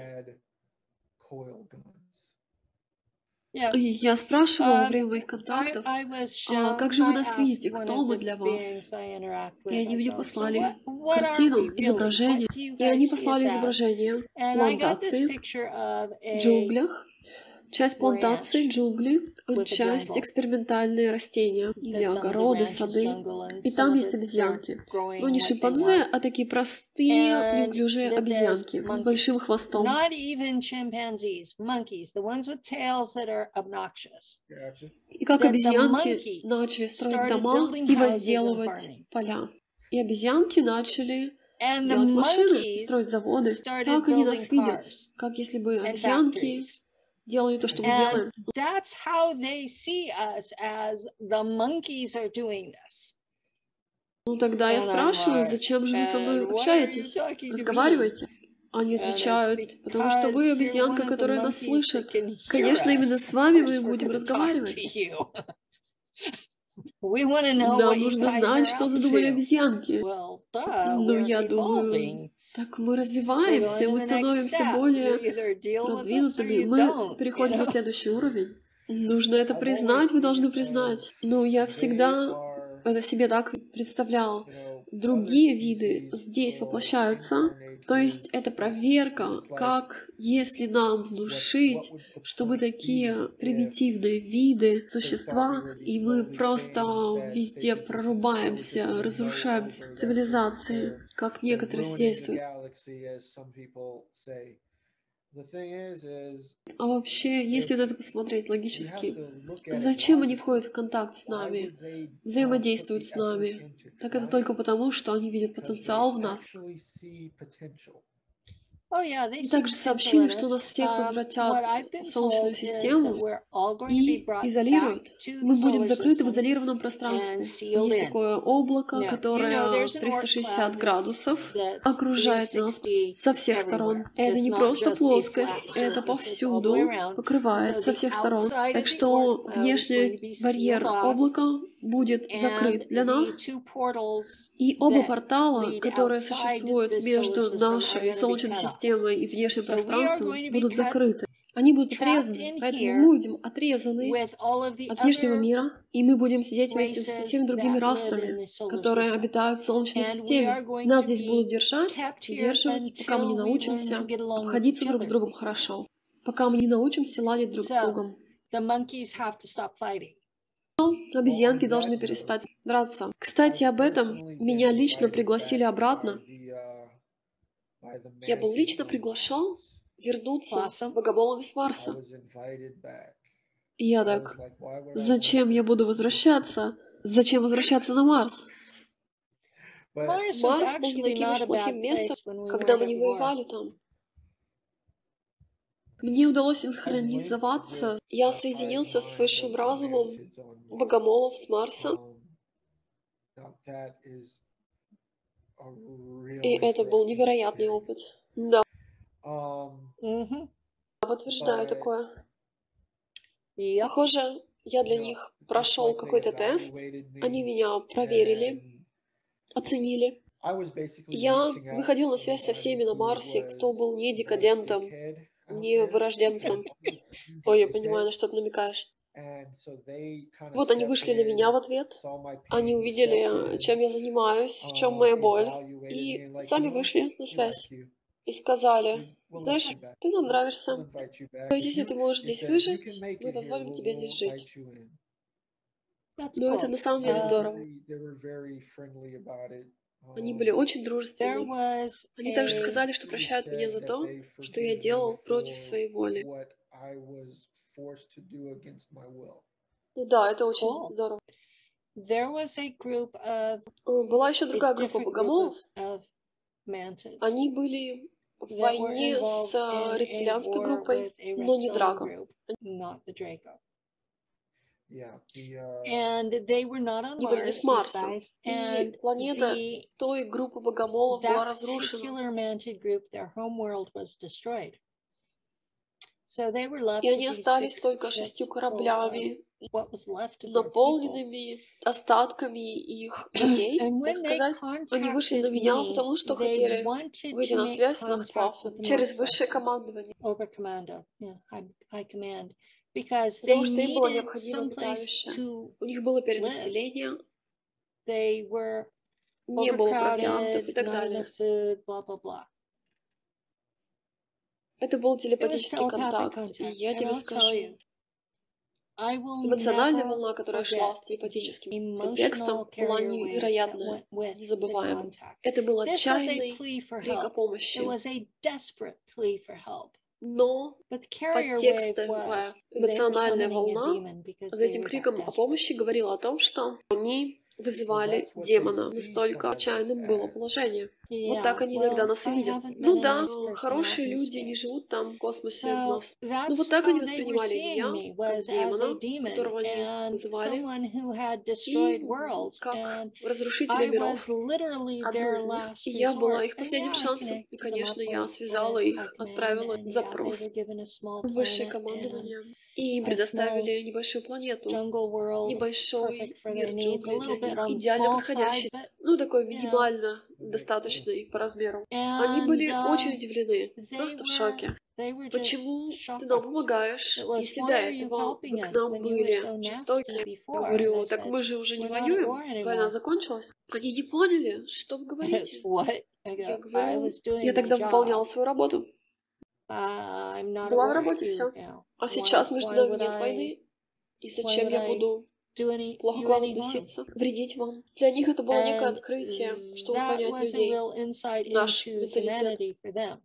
И я спрашивала во время моих контактов, а как же вы нас видите, кто мы для вас? И они мне послали картину, изображение. И они послали изображение плантации в джунглях, часть плантации, джунгли, часть экспериментальные растения или огороды, сады. И там есть обезьянки. Ну, не шимпанзе, а такие простые, неуклюжие обезьянки с большим хвостом. И как обезьянки начали строить дома и возделывать поля. И обезьянки начали делать машины, строить заводы. Так они нас видят, как если бы обезьянки делали то, что мы делаем. Ну тогда я спрашиваю, зачем же вы со мной общаетесь, разговариваете? Они отвечают, потому что вы обезьянка, которая нас слышит. Конечно, именно с вами мы будем разговаривать. Нам нужно знать, что задумали обезьянки. Ну, я думаю... Так мы развиваемся, мы становимся более продвинутыми, мы переходим на следующий уровень. Нужно это признать, вы должны признать. Ну, я всегда это себе так представлял. Другие виды здесь воплощаются, то есть это проверка, как если нам внушить, что мы такие примитивные виды, существа, и мы просто везде прорубаемся, разрушаем цивилизации, как некоторые свидетельствуют. А вообще, если на это посмотреть логически, зачем они входят в контакт с нами, взаимодействуют с нами? Так это только потому, что они видят потенциал в нас. И также сообщили, что нас всех возвратят в Солнечную систему и изолируют. Мы будем закрыты в изолированном пространстве. Есть такое облако, которое триста шестьдесят градусов окружает нас со всех сторон. Это не просто плоскость, это повсюду покрывает со всех сторон. Так что внешний барьер облака будет закрыт для нас, и оба портала, которые существуют между нашей Солнечной системой и внешним пространством, будут закрыты. Они будут отрезаны, поэтому мы будем отрезаны от внешнего мира, и мы будем сидеть вместе со всеми другими расами, которые обитают в Солнечной системе. Нас здесь будут держать, удерживать, пока мы не научимся обходиться друг с другом хорошо, пока мы не научимся ладить друг с другом. Обезьянки должны перестать драться. Кстати, об этом меня лично пригласили обратно. Я был лично приглашен вернуться богомолами с Марса. И я так, зачем я буду возвращаться? Зачем возвращаться на Марс? Марс был не таким уж плохим местом, когда мы не воевали там. Мне удалось синхронизоваться. Я соединился с высшим разумом богомолов с Марса. И это был невероятный опыт. Да. Mm-hmm. Подтверждаю такое. Yep. Похоже, я для них прошел какой-то тест, они меня проверили, оценили. Я выходил на связь со всеми на Марсе, кто был не декадентом, не вырожденцем. Ой, я понимаю, на что ты намекаешь. Вот они вышли на меня в ответ, они увидели, чем я занимаюсь, в чем моя боль, и сами вышли на связь. И сказали: знаешь, ты нам нравишься. Если ты можешь здесь выжить, мы позволим тебе здесь жить. Но это на самом деле здорово. Они были очень дружественны. Они также сказали, что прощают меня за то, что я делал против своей воли. Ну да, это очень Cool. здорово. There was a group of Была еще другая a группа different group богомолов. of, of mantids Они были в that were войне involved с in a рептилианской war группой, with a но не reptilian Драко. group, not the Draco. Yeah, the, uh, And they were not on Они были не с Mars, these Марса. guys. И And планета the той группы богомолов была that разрушена. particular mantid group, their home world was destroyed. So they were left И они with these остались six только ships шестью full of кораблями, what was left of their people. наполненными остатками их людей, And так when they сказать. Они вышли на contacted меня, me, потому что they хотели wanted выйти to на make связь с contact Нахтваффен with the через высшее Northwest командование, over commando, yeah, high, high command, because they потому что им было needed необходимо some place обиталище. to У них было live. перенаселение, They were не было провиантов и overcrowded, так not далее. enough food, blah blah blah. Это был It was телепатический telepathic контакт, и contact, я and тебе I'll tell скажу, you, I will эмоциональная never волна, которая шла forget с the телепатическим emotional контекстом, была carrier wave that невероятная, went with the незабываемая. contact. Это был This was a отчаянный plea for крик о help. It помощи, was a desperate plea for help. но But the carrier wave was подтекстовая they were эмоциональная summoning a волна demon because за they этим were that криком о desperate. помощи говорила о том, что они вызывали демона. Настолько отчаянным было положение. Вот Yeah, так они иногда well, нас и I видят. haven't Ну been a да, nice person out хорошие in люди не space. живут там в космосе у So нас. Ну that's вот так они how they were воспринимали seeing меня, me, как was as a демона, demon которого они and вызывали, someone who had и destroyed worlds. как And разрушителя I миров, was literally одну their из них. last И я была resort. их And последним yeah, I шансом. И, connected them конечно, up я with, связала with их, high command, отправила and yeah, they запрос were given a small в высшее planet and командование. И им a small предоставили небольшую планету, jungle world, небольшой perfect for мир their needs, a джунглей для little bit них, on the идеально small подходящий, side, but ну такой you know. минимально достаточный по размеру. Они And были uh, очень удивлены, they просто в were шоке. they were just Почему ты shocked. нам помогаешь, It was, если why до are you этого вы helping к us нам when you were были so nasty жестоки? Я before? And I говорю, так said, мы же уже не we're not at воюем, war война anymore. закончилась. Они не поняли, что вы говорите. What? I Я go, I говорю, was doing я my тогда выполняла job. свою работу. Uh, I'm not at Была в war работе, with you все. now. А Why, сейчас между why нами would нет I, войны. И why зачем would я I буду do any, плохо you к вам any harm? относиться, вредить вам? Для них это было некое And открытие, чтобы that понять was a людей, real insight наш into менталитет. humanity for them.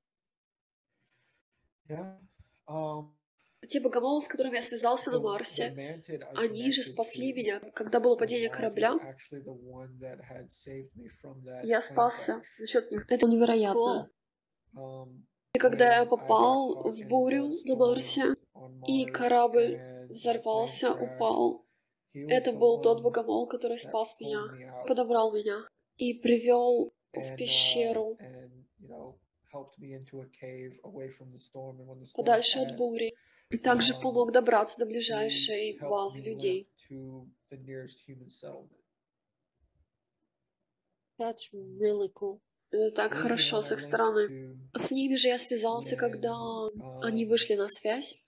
Yeah. Um, Те богомолы, с которыми я связался на the, the Марсе, mantid I они же connected спасли to меня. Когда было on падение Mars was корабля, actually the one that had saved me from that я plane спасся crash. за счет них. Это невероятно. Cool. Um, И когда я when I got попал caught в in бурю the на storm Марсе, on и Mars корабль and my plane взорвался, crashed, упал, he was это the был тот one богомол, который that спас меня, pulled me out подобрал меня и привел в and uh, пещеру, and you know helped me into a cave away from the storm. And when the storm подальше от passed, бури. И также um, помог добраться до he ближайшей helped базы me людей. limp to the nearest human settlement. That's really cool. Это так He was the хорошо one с I их linked стороны. to С ними же я связался, when когда они um, вышли на связь.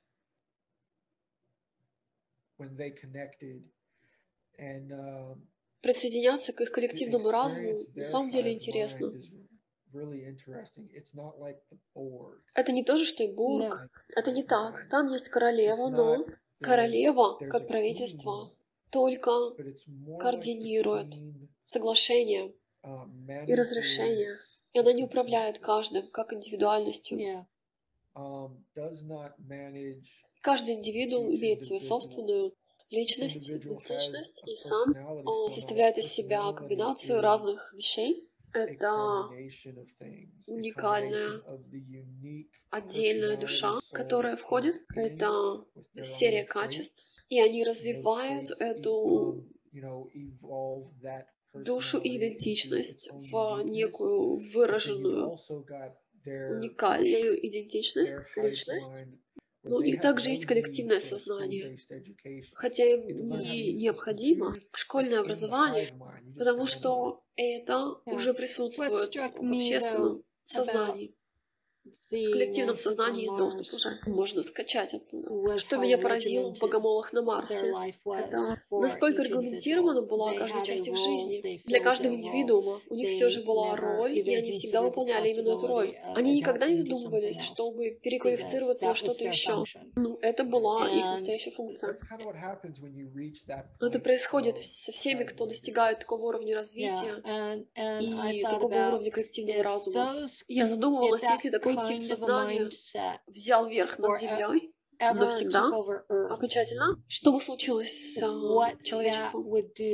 when they connected. And um, Присоединяться к их to коллективному разуму experience на their самом деле hive интересно. mind is really interesting. It's not like the Borg. Это не то же, что и No. Бург. Это не так. Um, Там есть it's королева, но not that королева, there's как a правительство, queen, только but it's more like the координирует queen соглашение uh, и разрешение. manages И the она не управляет consensus, каждым, как индивидуальностью. Yeah. um, does not manage Каждый индивидуум each имеет свою individual. собственную Each личность, individual has идентичность, a и сам personality. он So now a составляет из себя personality комбинацию is разных вещей. a Это combination of things, a уникальная, combination of the unique отдельная душа, personality soul которая входит. being Это with their серия own traits. качеств, и они And those развивают traits e- эту um, you know, evolve that душу и идентичность в некую выраженную, уникальную идентичность, личность. Но у них также есть коллективное сознание, хотя им не необходимо школьное образование, потому что это уже присутствует в общественном сознании. В коллективном сознании есть доступ уже. Можно скачать оттуда. Что меня поразило в богомолах на Марсе, это насколько регламентирована была каждая часть их жизни. Для каждого индивидуума у них все же была роль, и они всегда выполняли именно эту роль. Они никогда не задумывались, чтобы переквалифицироваться на что-то еще. Ну, это была их настоящая функция. Это происходит со всеми, кто достигает такого уровня развития и такого уровня коллективного разума. Я задумывалась, если такой тип сознания взял верх над Землей навсегда, окончательно, что бы случилось с uh, человечеством?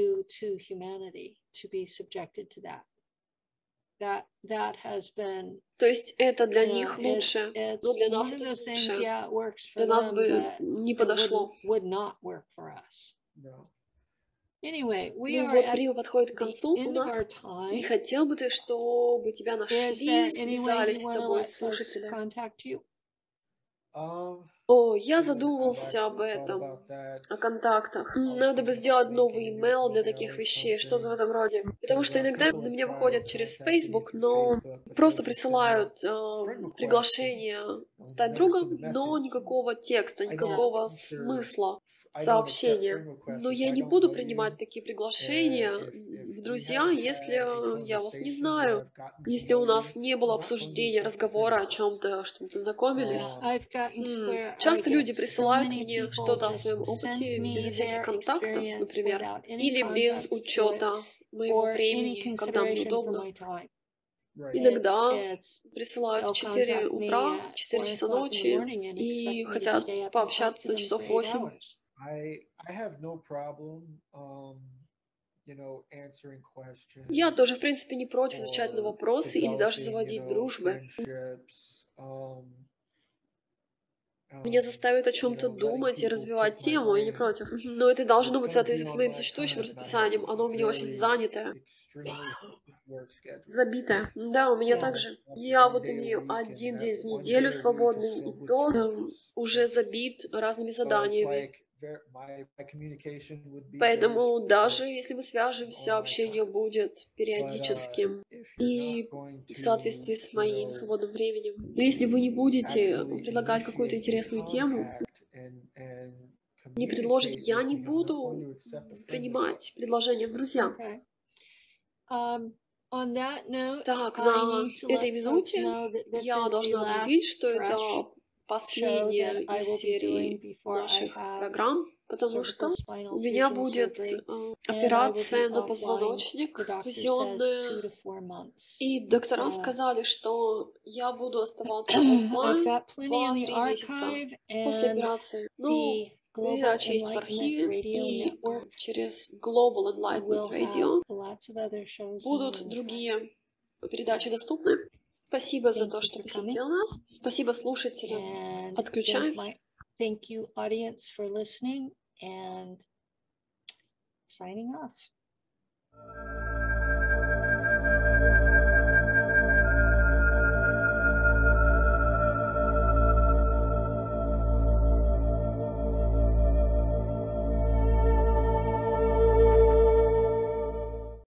То есть это для них лучше, но для нас это лучше. Для нас бы не подошло. Ну вот, время подходит к концу у нас. Не хотел бы ты, чтобы тебя нашли, связались с тобой слушатели? О, я задумывался об этом, о контактах. Надо бы сделать новый имейл для таких вещей, что-то в этом роде. Потому что иногда на меня выходят через Facebook, но просто присылают э, приглашение стать другом, но никакого текста, никакого смысла сообщения. Но я не буду принимать такие приглашения в друзья, если я вас не знаю, если у нас не было обсуждения, разговора о чем-то, что мы познакомились. М-м. Часто люди присылают мне что-то о своем опыте безо всяких контактов, например, или без учета моего времени, когда мне удобно. Иногда присылают в четыре утра, в четыре часа ночи и хотят пообщаться часов восемь. Я тоже, в принципе, не против отвечать на вопросы или даже заводить дружбы. Меня заставит о чем-то думать и развивать тему, я не против. Но это должно быть в соответствии с моим существующим расписанием. Оно у меня очень занятое. Забитое. Да, у меня также. Я вот имею один день в неделю свободный, и то там, уже забит разными заданиями. Поэтому даже если мы свяжемся, общение будет периодическим и в соответствии с моим свободным временем. Но если вы не будете предлагать какую-то интересную тему, не предложите, я не буду принимать предложения в друзья. Так, на этой минуте я должна объявить, что это последняя из серии наших программ, потому что у меня будет э, операция на позвоночник казенная, и доктора сказали, что я буду оставаться оффлайн два-три месяца после операции. Ну, передача есть в архиве, и через Global Enlightenment Radio будут другие передачи доступны. Спасибо за то, что посетил нас. Спасибо слушателям. Отключаемся. Thank you, audience, for listening, and signing off.